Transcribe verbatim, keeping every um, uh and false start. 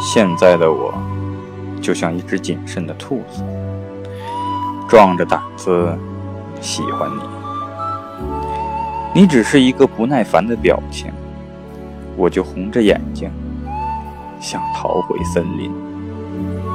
现在的我就像一只谨慎的兔子，壮着胆子喜欢你。你只是一个不耐烦的表情，我就红着眼睛想逃回森林。